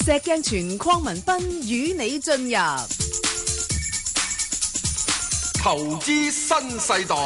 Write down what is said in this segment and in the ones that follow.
石鏡泉鄺民彬與你進入投資新世代。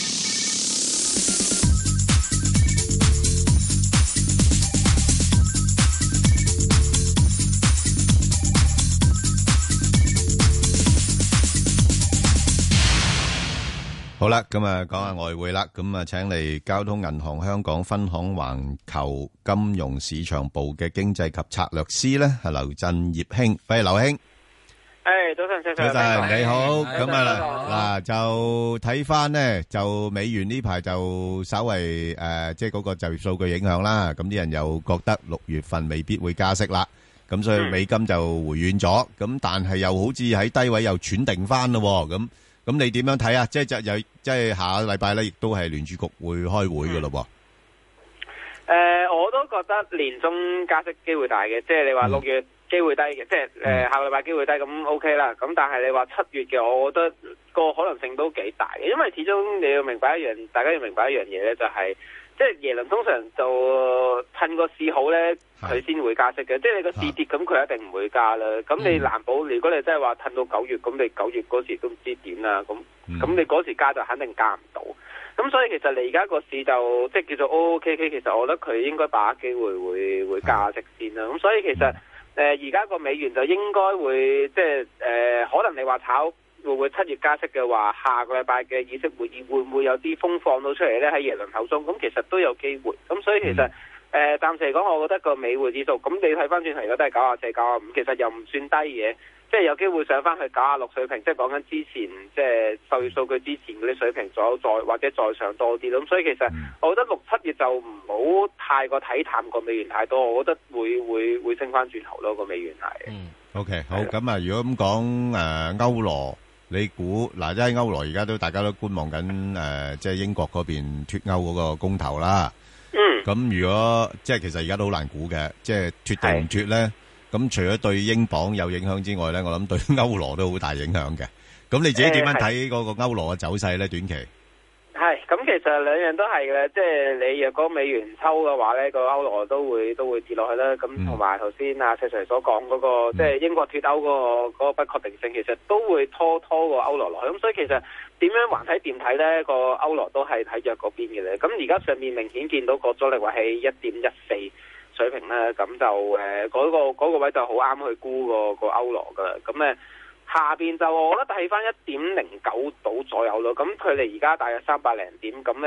好啦，咁啊講下外匯啦，咁啊請嚟交通銀行香港分行環球金融市場部嘅經濟及策略師咧，係劉振業兄，歡迎劉兄。 早晨， 早晨，你好。咁啊嗱，就睇翻咧，就美元呢排就稍為即係嗰個就業數據影響啦，咁啲人又覺得6月份未必會加息啦，咁所以美金就回軟咗，咁但係又好似喺低位又喘定翻咯，咁你點樣睇啊？即係下個禮拜咧，亦都係聯儲局會開會嘅咯。 我都覺得年中加息機會大嘅，即係你話6月機會低嘅，即係下個禮拜機會低，咁 OK 啦。咁但係你話7月嘅，我覺得個可能性都幾大嘅，因為始終你要明白大家要明白一樣嘢咧，就係即係耶倫通常就趁個市好咧，佢先會加息嘅。即係你個市跌，咁佢一定唔會加啦。咁你難保，如果你真係話褪到9月，咁你9月嗰時都唔知點啦。咁你嗰時加就肯定加唔到。咁所以其實你而家個市就即係叫做 OOKK，其實我覺得佢應該把握機會會加息先啦。咁所以其實而家個美元就應該會即係可能你話炒會唔會7月加息嘅話，下個禮拜嘅議息會議會唔會有啲風放到出嚟咧？喺耶倫口中，咁其實都有機會。咁所以其實暫時嚟講，我覺得個美匯指數，咁你睇翻轉頭而家都係94、95，其實又唔算低嘅。即係有機會上翻去96水平，即係講緊之前即係就業數據之前嗰啲水平左右，再或者再上多啲咯。咁所以其實我覺得6、7月就唔好太過睇淡個美元太多，我覺得會升翻轉頭咯，個美元係。 OK， 好。咁啊，如果咁講歐羅，你估嗱，即係歐羅而家大家都觀望緊即係英國嗰邊脫歐嗰個公投啦。咁如果即係其實而家都好難估嘅，即係脫定唔脫咧？咁除咗對英鎊有影響之外咧，我諗對歐羅都好大影響嘅。咁你自己點樣睇嗰個歐羅嘅走勢咧？短期係咁，其實兩樣都係嘅。即係你若果美元抽嘅話咧，個歐羅都會跌落去啦。咁同埋頭先阿石 Sir 所講嗰個，即係英國脫歐嗰個不確定性，其實都會拖個歐羅落去。咁所以其實點樣橫睇掂睇咧，個歐羅都係睇弱嗰邊嘅咧。咁而家上面明顯見到個阻力位係1.14水平咧，咁就嗰個位就好啱去估個歐羅噶啦。咁下邊就我覺得睇翻1.09度左右咯。咁距離而家大約300零點，咁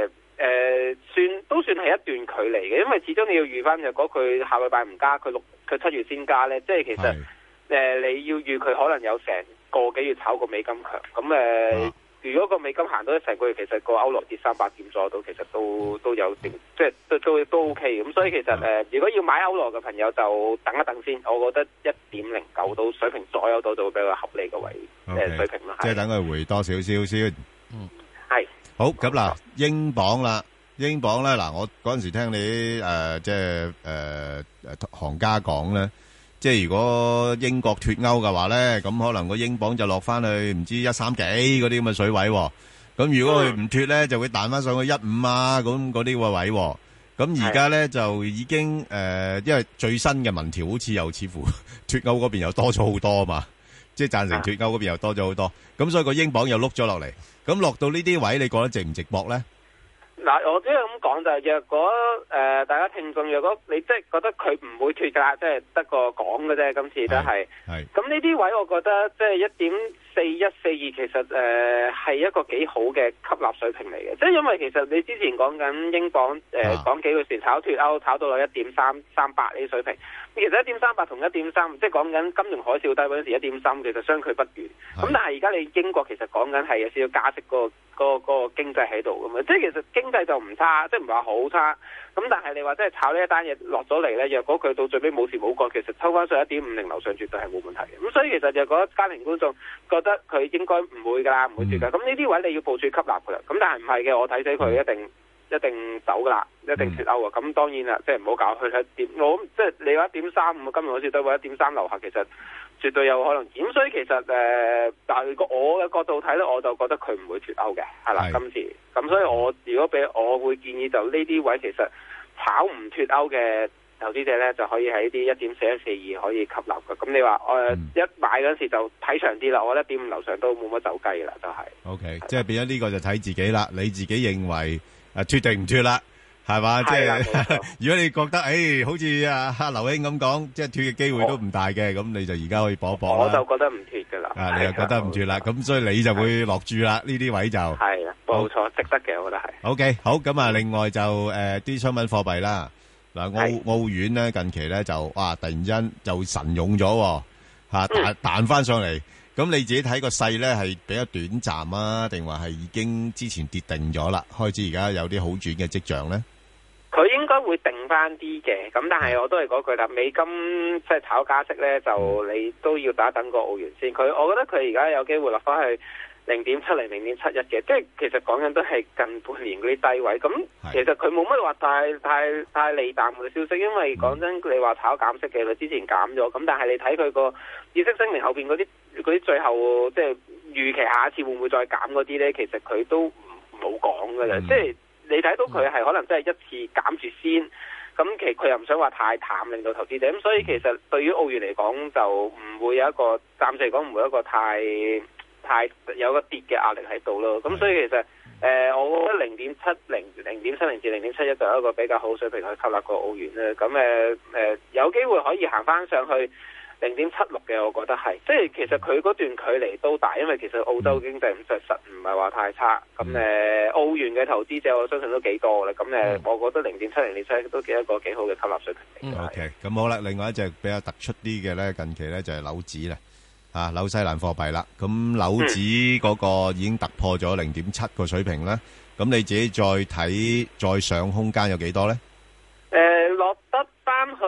算係一段距離嘅。因為始終你要預翻，若果佢下個禮拜唔加，佢7月先加咧，即係其實你要預佢可能有成個幾月炒個美金強。咁如果個美金行到成個月，其實個歐羅跌300點左右到，其實都有定，即係都 OK。咁所以其實如果要買歐羅嘅朋友就等一等先，我覺得1.09到水平左右到就會比較合理嘅位水平啦。 即係等佢回多少少先。 係。好， 咁嗱，英鎊啦，英鎊咧嗱，我嗰陣時聽你即係行家講咧。即係如果英國脫歐嘅話咧，咁可能個英鎊就落翻去唔知1.3幾嗰啲咁嘅水位。咁如果佢唔脫咧，就會彈翻上去1.5啊咁嗰啲個位。咁而家咧就已經因為最新嘅民調好似又似乎脫歐嗰邊又多咗好多啊嘛，即係贊成脫歐嗰邊又多咗好多。咁所以個英鎊又碌咗落嚟。咁落到呢啲位，你覺得值唔值博咧？ 嗱，我只係咁講就係，若果大家聽眾，若果你即係覺得佢唔會脫㗎，即係得個講嘅啫，今次都係。咁呢啲位，我覺得即係1.4142，其實係一個幾好嘅吸納水平嚟嘅。即係因為其實你之前講緊英鎊講幾個時炒脫歐，炒到落1.338呢啲水平。其實1.38同1.3，即係講緊金融海嘯低嗰陣時1.3，其實相距不遠。咁但係而家你英國其實講緊係有少少加息個經濟喺度㗎嘛，即係其實經濟就唔差，即係唔係話好差。咁但係你話即係炒呢一單嘢落咗嚟咧，若果佢到最尾冇事冇幹，其實抽翻上1.50樓上絕對係冇問題嘅。咁所以其實若果家庭觀眾覺得佢應該唔會㗎啦，唔會脫㗎。咁呢啲位你要部署吸納㗎啦。咁但係唔係嘅，我睇死佢一定走㗎啦，一定脫歐啊！咁當然啦，即係唔好搞去我即係你話1.35，今日好似都話1.3樓下，其實絕對有可能。咁所以其實但係我嘅角度睇咧，我就覺得佢唔會脫歐嘅，係啦，今次。咁所以我如果俾我會建議就呢啲位其實炒唔脫歐嘅投資者咧就可以喺啲1.4142可以吸納嘅。咁你話一買嗰陣時就睇長啲啦，我覺得1.5樓上都冇乜走雞啦，就係。 OK， 即係變咗呢個就睇自己啦，你自己認為脫定唔脫啦？係嘛？即係如果你覺得好似阿劉兄咁講，即係脫嘅機會都唔大嘅，咁你就而家可以搏一搏啦。 我就覺得唔脫噶啦。 你又覺得唔脫啦，咁所以你就會落注啦。呢啲位就係啊，冇錯，值得嘅，我覺得係。 OK， 好咁啊，另外就啲商品貨幣啦，嗱澳元咧近期咧就哇突然之間就神勇咗嚇，彈翻上嚟。咁你自己睇個勢咧係比較短暫啊，定話係已經之前跌定咗啦，開始而家有啲好轉嘅跡象咧？ 佢應該會定翻啲嘅，咁但係我都係嗰句啦，美金即係炒加息咧，就你都要等一等個澳元先。我覺得佢而家有機會落翻去0.70、0.71嘅，即係其實講緊都係近半年嗰啲低位。咁其實佢冇乜話太利淡嘅消息，因為講真，你話炒減息嘅，佢之前減咗，咁但係你睇佢個議息聲明後邊嗰啲最後即係預期下一次會唔會再減嗰啲咧，其實佢都冇講㗎啦，即係。你睇到佢係可能真係一次減住先，咁其實佢又唔想話太淡，令到投資者咁，所以其實對於澳元嚟講就唔會有一個暫時嚟講唔會有一個太有個跌嘅壓力喺度咯。咁所以其實我覺得0.70至0.71就係一個比較好水平去吸納個澳元咧。咁有機會可以行翻上去0.76嘅，我覺得係，即係其實佢嗰段距離都大，因為其實澳洲經濟實唔係話太差，咁澳元嘅投資者我相信都幾多啦，咁我覺得0.70、0.71都幾一個幾好嘅吸納水平。 OK， 咁好啦，另外一隻比較突出啲嘅咧，近期咧就係紐紙啦，紐西蘭貨幣啦，咁紐紙嗰個已經突破咗0.7個水平啦，咁你自己再睇再上空間有幾多咧？ 落得翻去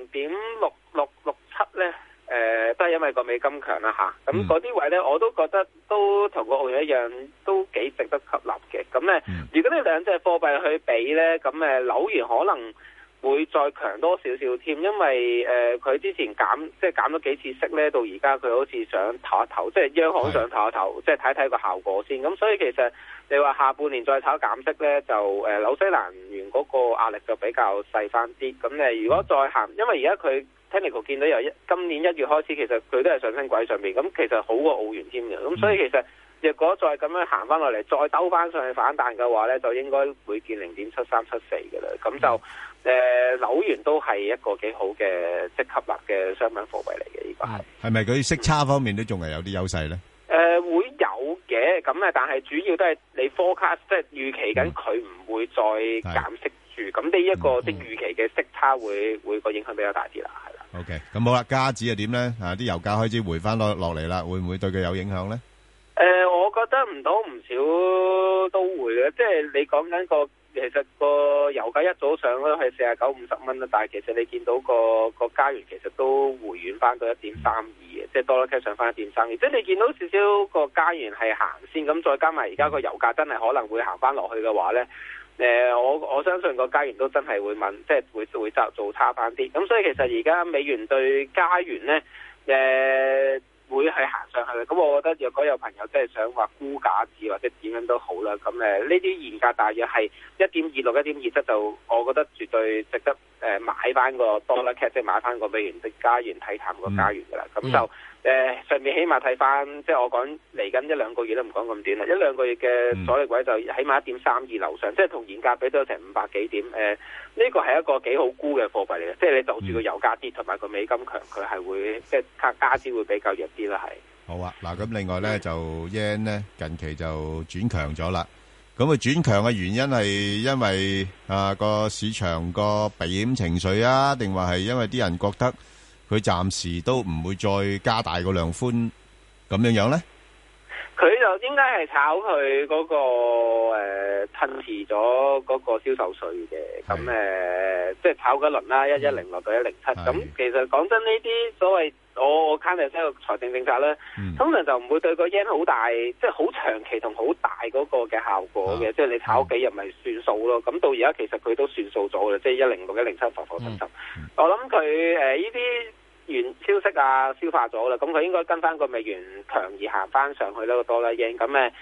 0.6667咧，都係因為個美金強啦嚇，咁嗰啲位咧我都覺得都同個澳元一樣，都幾值得吸納嘅。咁如果呢兩隻貨幣去比咧，咁紐元可能會再強多少少添，因為佢之前減咗幾次息咧，到而家佢好似想唞一唞，即係央行想唞一唞，即係睇睇個效果先。咁所以其實你話下半年再炒減息咧，就紐西蘭元嗰個壓力就比較細翻啲。咁如果再行，因為而家佢 Technical 見到由今年1月開始，其實佢都係上升軌上面，咁其實好過澳元添嘅。咁所以其實若果再咁樣行翻落嚟，再兜翻上去反彈嘅話咧，就應該會見0.7374嘅啦。咁就紐元都係一個幾好嘅即吸納嘅商品貨幣嚟嘅，呢個係咪佢息差方面都仲係有啲優勢咧？會有嘅，咁但係主要都係你 forecast 即係預期緊佢唔會再減息住，咁呢一個即係預期嘅息差會個影響比較大啲啦，係啦。 OK， 咁好啦，加指又點咧？啲油價開始回翻落嚟啦，會唔會對佢有影響咧？ 我覺得唔多唔少都會嘅，即係你講緊其實個油價一早上都係49、50蚊啦，但係其實你見到個加元其實都回軟翻到1.32嘅，即係多啦 K 上翻1.32，即係你見到少少個加元係行先，咁再加埋而家個油價真係可能會行翻落去嘅話咧，我相信個加元都真係會即係會做差翻啲，咁所以其實而家美元對加元咧，會係行上去嘅，咁我覺得若果有朋友真係想話沽價字或者點樣都好啦，咁呢啲現價大約係1.26、1.27，就我覺得絕對值得買翻個多啦 cat， 即係買翻個美元的加元睇淡個加元噶啦，咁就上面起碼睇翻，即係我講嚟緊1-2個月都唔講咁短啦，1-2個月嘅阻力位就起碼1.32樓上，即係同現價比都有成500幾點，呢個係一個幾好沽嘅貨幣嚟嘅，即係你就住個油價跌同埋個美金強，佢係會即係加資會比較弱啲啦，係。 好啊，嗱咁另外咧就 yen 咧近期就轉強咗啦，咁佢轉強嘅原因係因為個市場個避險情緒啊，定話係因為啲人覺得佢暫時都唔會再加大個量寬咁樣咧？ 佢就應該係炒佢嗰個褪遲咗嗰個銷售稅嘅，咁即係炒嗰輪啦，110落到107，咁其實講真呢啲所謂我睇嚟即係個財政政策咧，通常就唔會對個 yen 好大，即係好長期同好大嗰個嘅效果嘅，即係你炒幾日咪算數咯。咁到而家其實佢都算數咗嘅，即係106、107浮浮沉沉。我諗佢呢啲原消息消化咗啦，咁佢應該跟翻個美元強而行翻上去呢個多啦 yen，咁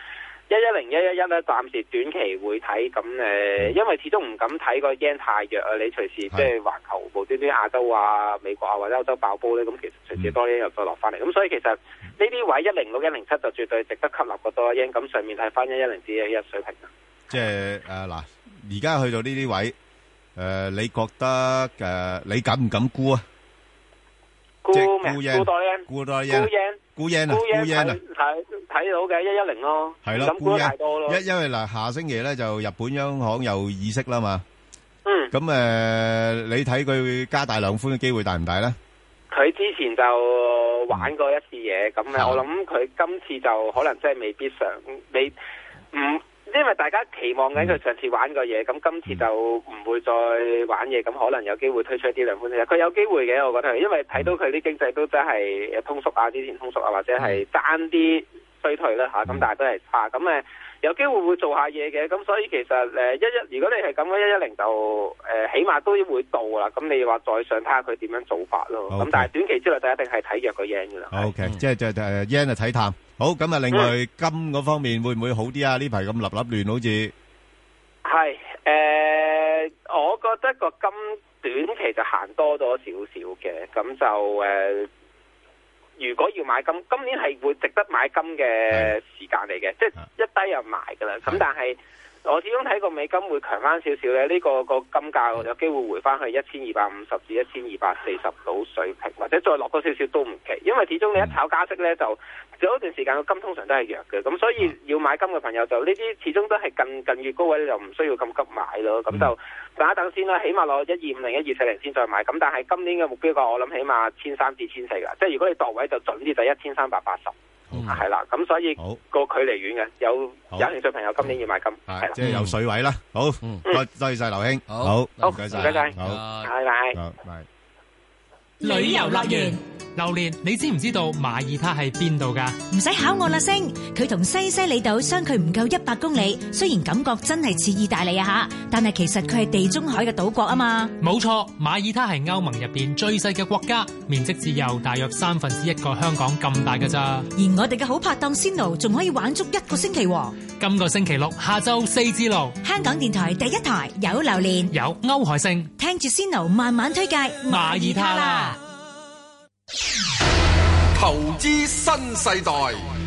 110、111咧，暫時短期會睇咁因為始終唔敢睇個 yen 太弱啊，你隨時即係環球無端端亞洲啊、美國啊或者歐洲爆煲咧，咁其實隨時多 yen 又再落翻嚟，咁所以其實呢啲位106、107就絕對值得吸納個多 yen，咁上面睇翻110至111水平啊。 即係嗱，而家去到呢啲位，你覺得你敢唔敢沽啊？ 沽咩？沽多 yen？ 沽多 yen？沽 yen 啊？沽 yen 啊？ 睇到嘅110咯， 係咯，沽太多咯。因為嗱，下星期咧就日本央行有議息啦嘛。咁你睇佢加大量寬嘅機會大唔大咧？佢之前就玩過一次嘢，咁我諗佢今次就可能真係未必因為大家期望緊佢上次玩過嘢，咁今次就唔會再玩嘢，咁可能有機會推出一啲量寬政策。佢有機會嘅，我覺得，因為睇到佢啲經濟都真係通縮啊，之前通縮啊，或者係爭啲衰退啦嚇，咁但係都係差，咁有機會會做下嘢嘅，咁所以其實如果你係咁嘅110就起碼都會到啦，咁你話再上睇下佢點樣做法咯，咁但係短期之內就一定係睇弱個 yen 噶啦。 OK，即係yen 就睇淡。好，咁啊，另外金嗰方面會唔會好啲啊？呢排咁立亂，好似係我覺得個金短期就行多咗少少嘅，咁就如果要買金，今年係會值得買金嘅時間嚟嘅，即係一低就賣噶啦。咁但係我始終睇個美金會強翻少少咧，呢個金價有機會回翻去1250至1240到水平，或者再落多少少都唔奇。因為始終你一炒加息咧，就有一段時間個金通常都係弱嘅，咁所以要買金嘅朋友就呢啲始終都係近月高位就唔需要咁急買咯。咁就等一等先啦，起碼攞1250、1240先再買。咁但係今年嘅目標價我諗起碼1300至1400噶，即係如果你度位就準啲就1380。係啦，咁所以個距離遠嘅，有興趣朋友今年要買金，係啦， 即係有水位啦。好，多謝晒劉兄，好，唔該晒， 好，拜拜。 旅遊樂園，榴蓮，你知唔知道馬耳他係邊度㗎？ 唔使考我啦，星，佢同西西里島相距唔夠100公里，雖然感覺真係似意大利啊吓，但係其實佢係地中海嘅島國啊嘛。 冇錯，馬耳他係歐盟入邊最細嘅國家，面積只有大約1/3個香港咁大㗎咋。 而我哋嘅好拍檔Sino仲可以玩足1個星期喎。 今個星期六下晝4至6， 香港電台第一台有榴蓮， 有歐海星， 聽住Sino慢慢推介馬耳他啦。 投資新世代。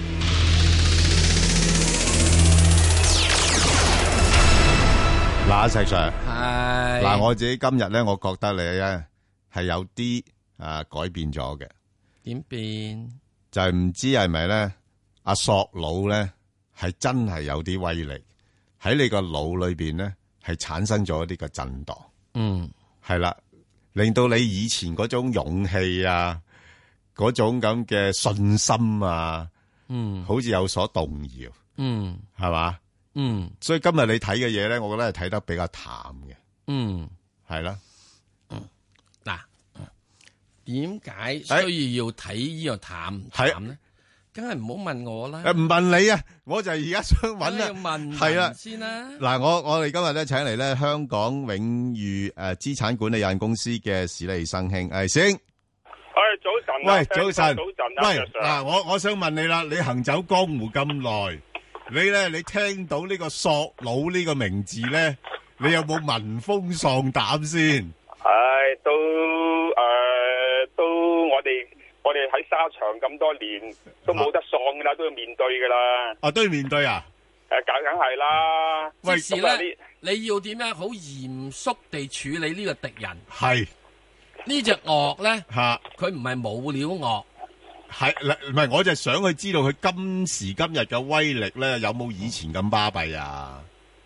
嗱，石 Sir，嗱，我自己今日咧，我覺得你咧係有啲改變咗嘅。 點變？ 就係唔知係咪咧？阿索佬咧係真係有啲威力喺你個腦裏邊咧，係產生咗一啲嘅震盪。係啦，令到你以前嗰種勇氣啊，嗰種咁嘅信心啊，好似有所動搖，係嘛？所以今日你睇嘅嘢咧，我覺得係睇得比較淡嘅，係啦。 嗱，點解需要睇呢個淡咧？梗係唔好問我啦。 唔問你啊，我就係而家想揾啦。 係啦，先啦。 嗱，我哋今日咧請嚟咧香港永裕資產管理有限公司嘅史利生兄，先。 早晨， 喂，早晨， 喂， 嗱，我想問你啦，你行走江湖咁耐，你聽到呢個索佬呢個名字咧，你有冇聞風喪膽先？ 都我哋喺沙場咁多年，都冇得喪噶啦，都要面對噶啦。 都要面對啊？ 梗係啦。 喂，是咧，你要點樣好嚴肅地處理呢個敵人？ 係。 呢隻鱷咧，佢唔係冇料鱷， 係唔係？我就想去知道佢今時今日嘅威力咧，有冇以前咁巴閉啊？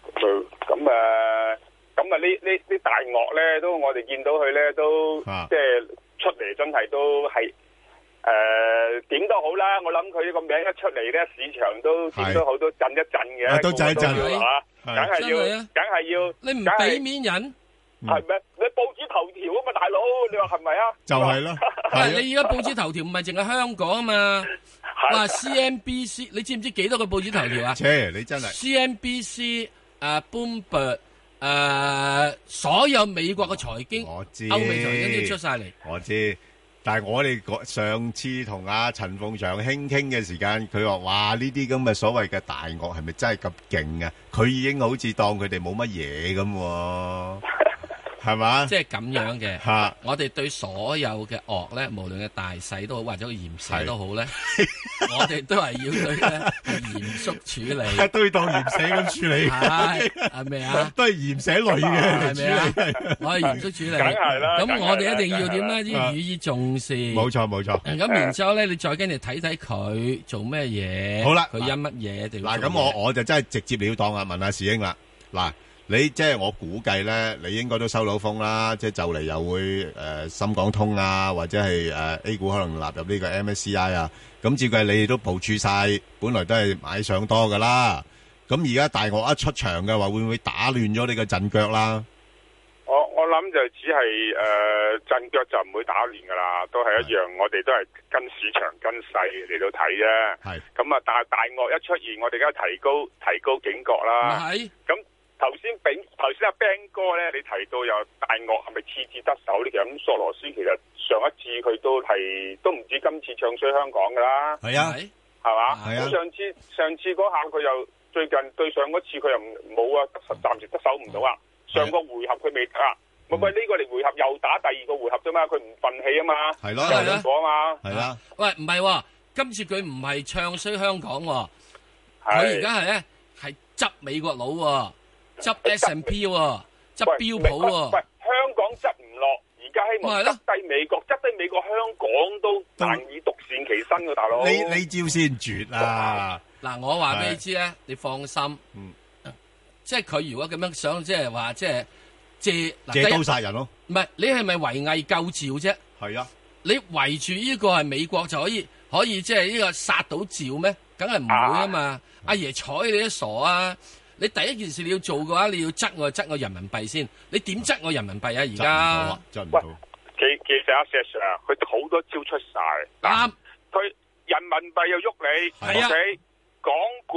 咁呢大鱷咧，都我哋見到佢咧，都即係出嚟真係都係點都好啦。我諗佢呢個名一出嚟咧，市場都點都好都震一震嘅， 都震一震嚇，梗係要， 你唔俾面人。 係咩？你報紙頭條啊嘛，大佬，你話係咪啊？ 就係咯。 係你而家報紙頭條唔係淨係香港啊嘛？哇 ，CNBC， 你知唔知幾多個報紙頭條啊？ 你真係 CNBC、Bloomberg、所有美國嘅財經， 我知， 歐美財經都出晒嚟。 我知， 但係我哋上次同阿陳鳳祥傾嘅時間，佢話：哇，呢啲咁嘅所謂嘅大鱷係咪真係咁勁啊？佢已經好似當佢哋冇乜嘢咁喎。係嘛？ 即係咁樣嘅。我哋對所有嘅鱷咧，無論嘅大細都好，或者個鹽蛇都好咧，我哋都係要對咧嚴肅處理。 都要當鹽蛇咁處理。 係咪啊？ 都係鹽蛇類嘅， 係咪啊？我係嚴肅處理。 梗係啦。 咁我哋一定要點咧？要予以重視。 冇錯冇錯。 咁然之後咧，你再跟住睇睇佢做咩嘢。 好啦， 佢因乜嘢定嗱？咁我就真係直接了當啊！問下師兄啦，嗱。你即係我估計咧，你應該都收到風啦，即係就嚟又會深港通啊，或者係A 股可能納入呢個 MSCI 啊。咁照計你哋都部署晒，本來都係買上多噶啦。咁而家大鱷一出場嘅話，會唔會打亂咗你嘅陣腳啦？ 我諗就只係陣腳就唔會打亂噶啦，都係一樣。我哋都係跟市場跟勢嚟到睇啫。係咁啊，但係大鱷一出現，我哋而家提高警覺啦。係咁。頭先阿 Ben 哥咧，你提到有大鱷係咪次次得手呢？其實咁索羅斯其實上一次佢都唔止今次唱衰香港噶啦。係啊，係嘛？係啊。上次嗰下佢又最近對上嗰次佢又冇啊，暫時得手唔到啊。上個回合佢未得啊。喂，呢個嚟回合又打第二個回合啫嘛，佢唔忿氣啊嘛。係咯，係咯。嘛。係啦。 喂，唔係，今次佢唔係唱衰香港，佢而家係咧係執美國佬。執 S&P 喎，執標普喎。 喂，香港執唔落，而家希望執低美國，執低美國，香港都難以獨善其身嘅大佬。 呢招先絕啊！ 嗱，我話俾你知咧，你放心。即係佢如果咁樣想，即係話即係借刀殺人咯。 唔係，你係咪圍魏救趙啫？係啊。你圍住呢個係美國就可以即係呢個殺到趙咩？梗係唔會啊嘛！阿爺睬你都傻啊！你第一件事你要做嘅話，你要執我人民幣先。你點執我人民幣啊？而家執唔到。 其實阿 Sir 佢好多招出晒。啱。佢人民幣又喐你，係啊。港股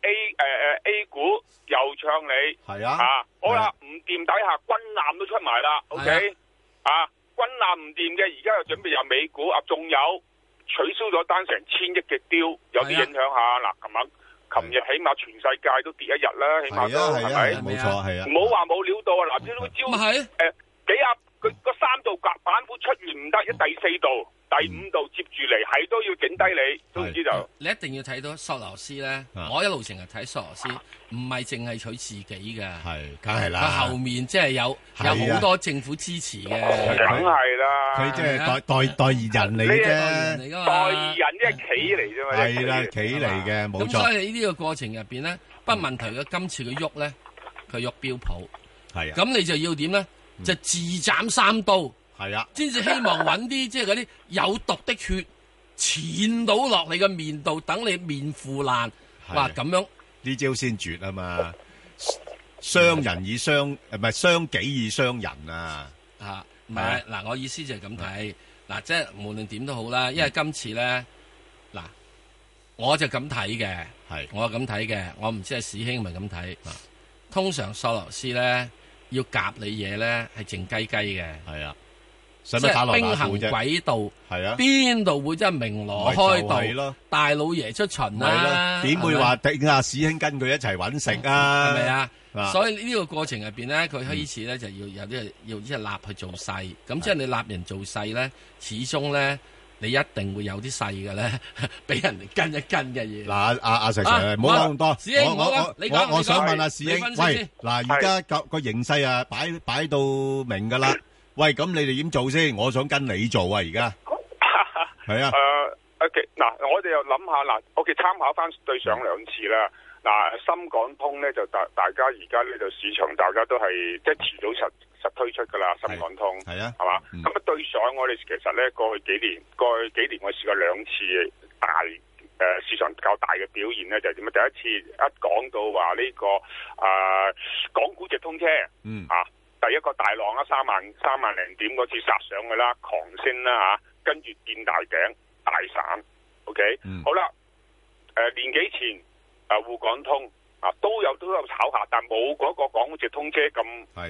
A 股又唱你，係啊。好啦，唔掂底下軍艦都出埋啦。OK。軍艦唔掂嘅，而家又準備入美股啊，仲有取消咗單成1000億嘅雕，有啲影響下嗱，琴日起碼全世界都跌一日啦，起碼都係咪？冇錯，係啊！唔好話冇料到啊！嗱，呢個招佢個3度板斧出完唔得，第4度、第5度接住嚟，係都要整低你，都唔知就。 你一定要睇到索羅斯咧，我一路成日睇索羅斯，唔係淨係佢自己嘅，係，梗係啦。佢後面即係有好多政府支持嘅， 梗係啦。 佢即係代言人嚟嘅啫， 代言人即係企嚟啫嘛。 係啦，企嚟嘅，冇錯。 咁所以喺呢個過程入邊咧，不問題嘅今次佢喐咧，佢喐標普，係啊。咁你就要點咧？就自斬3刀，係啊，先至希望揾啲即係嗰啲有毒的血濺到落你嘅面度，等你面腐爛。哇，咁樣呢招先絕啊嘛！傷人以傷，唔係傷己以傷人啊！ 嚇，唔係嗱，我意思就係咁睇嗱，即係無論點都好啦，因為今次咧嗱，我就咁睇嘅，係我咁睇嘅，我唔知係史兄咪咁睇。通常索羅斯咧。要夾你嘢咧，係靜雞雞嘅。係啊，即係兵行詭道。係啊，邊度會真係鳴鑼開道？大老爺出巡啦， 點會話頂阿史兄跟佢一齊揾食啊？ 係咪啊？所以呢個過程入邊咧，佢開始咧就要有啲要一立去做勢。咁即係你立人做勢咧，始終咧。你一定會有啲細嘅咧，俾人哋跟一跟嘅嘢。嗱，阿石 Sir，唔好講咁多。史兄，我想問阿史兄，喂，嗱，而家個形勢啊，擺到明㗎啦。喂，咁你哋點做先？我想跟你做啊，而家。係啊。 OK，嗱，我哋又諗下嗱，OK，參考翻對上2次啦。嗱，深港通咧就大家而家呢度市場大家都係即係遲早實推出噶啦，深港通係啊，係嘛？咁啊對上我哋其實咧過去幾年我試過2次大市場較大嘅表現咧，就係點啊？第一次一講到話呢個港股直通車，第一個大浪啦，3萬零點嗰次殺上去啦，狂升啦嚇，跟住見大頂大散 ，OK，好啦，年幾前滬港通都有炒下，但冇嗰個港直通車咁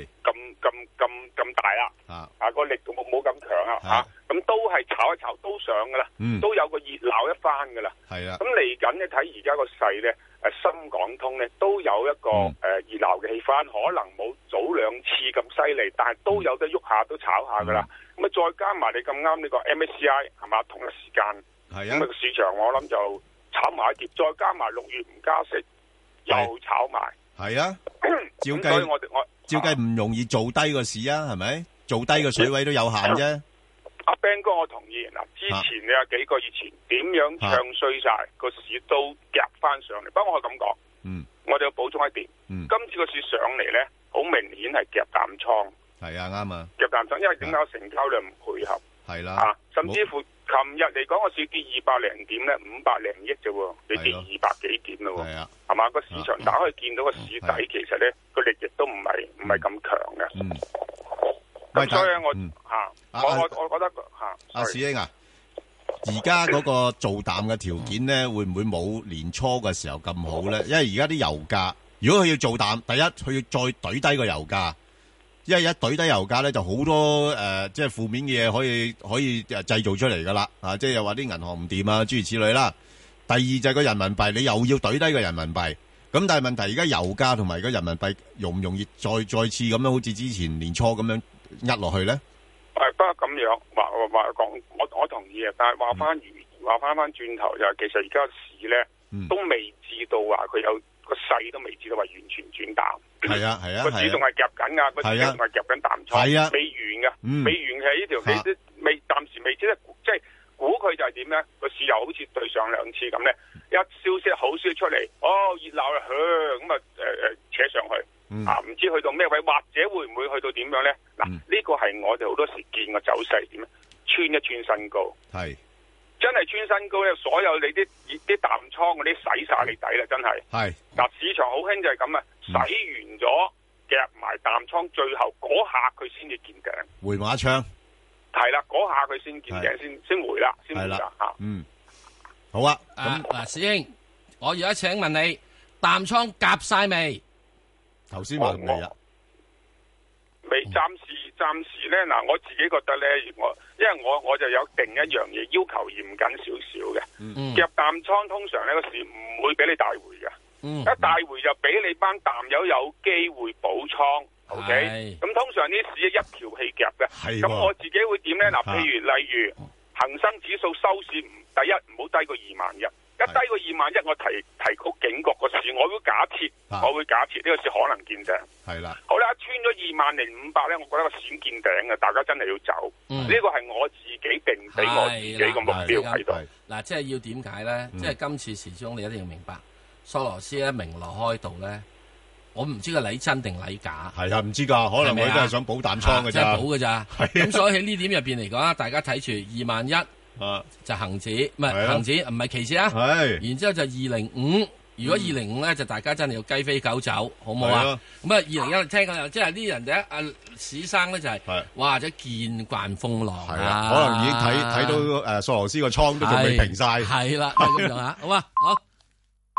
大啦，個力度冇咁強啊，咁都係炒一炒都上噶啦，都有個熱鬧一番噶啦，係啊，咁嚟緊咧睇而家個勢咧，深港通咧都有一個熱鬧嘅氣氛，可能冇早兩次咁犀利，但係都有得喐下，都炒下噶啦，咁再加埋你咁啱呢個 MSCI 係嘛，同一時間，咁個市場我諗就炒埋一碟，再加埋6月唔加息。又炒埋，係啊，照計唔容易做低個市啊，係咪？做低個水位都有限啫。阿 Ben 哥，我同意嗱，之前你有幾個月前點樣唱衰晒個市都夾翻上嚟，不過我係咁講，我哋要補充一點，今次個市上嚟咧，好明顯係夾淡倉，係啊，啱啊，夾淡倉，因為點解成交量唔配合，係啦，甚至乎。琴日嚟講個市跌200零點咧，500零億啫喎，你跌200幾點咯喎，係嘛？個市場打開見到個市底，其實咧個力亦都唔係咁強嘅。咁所以我覺得阿史英啊，而家嗰個做淡嘅條件咧，會唔會冇年初嘅時候咁好咧？因為而家啲油價，如果佢要做淡，第一佢要再懟低個油價。因為一懟低油價咧，就好多即係負面嘅嘢可以製造出嚟噶啦，即係又話啲銀行唔掂啊，諸如此類啦。第二就係個人民幣，你又要懟低個人民幣，咁但係問題而家油價同埋個人民幣容唔容易再次咁樣，好似之前年初咁樣壓落去咧？ 不過咁樣話講，我同意啊，但係話翻轉頭就係，其實而家市咧都未知道話佢有個勢都未知道話完全轉淡。係啊，個市仲係夾緊噶，個市仲係夾緊淡倉，未完噶，未完嘅呢條，你都暫時未知得，即係估佢就係點咧？個市又好似對上兩次咁咧，一消息好消息出嚟，熱鬧啦，咁扯上去，唔知去到咩位，或者會唔會去到點樣咧？嗱，呢個係我哋好多時見個走勢點咧，穿一穿新高，係真係穿新高咧，所有你啲淡倉嗰啲洗晒你底啦，真係。係嗱，市場好興就係咁啊。洗完咗夾埋淡倉，最後嗰下佢先至見頂， 回馬槍係啦，嗰下佢先見頂，先回啦，先回啦吓。 好啊。 嗱，師兄，我而家請問你，淡倉夾晒未？ 頭先話未啊？ 未，暫時咧嗱，我自己覺得咧，因為我就有定一樣嘢，要求嚴謹少少嘅。夾淡倉通常呢個市唔會俾你大回嘅。一大回就俾你班淡友有機會補倉 ，OK？ 咁通常呢市一條氣夾嘅，咁我自己會點咧？嗱，例如恒生指數收市第一唔好低過21000，一低過21000，我提高警覺個市，我會假設呢個市可能見頂。係啦，好啦，穿咗20500咧，我覺得個市見頂嘅，大家真係要走。呢個係我自己定俾我自己個目標喺度。 嗱，即係要點解咧？即係今次始終你一定要明白。索羅斯咧明羅開道咧，我唔知個禮真定禮假。係啊，唔知噶，可能佢都係想補淡倉嘅咋，即係補嘅咋。咁所以喺呢點入邊嚟講，大家睇住21000就恒指，唔係恒指，唔係期指啊。係，然之後就205，如果205咧，就大家真係要雞飛狗走，好唔好啊？咁啊，201聽講又即係呢人哋阿史生咧就係，哇！即係見慣風浪啊， 可能已經睇到索羅斯個倉都仲未平晒。係啦，咁樣啊，好啊，好。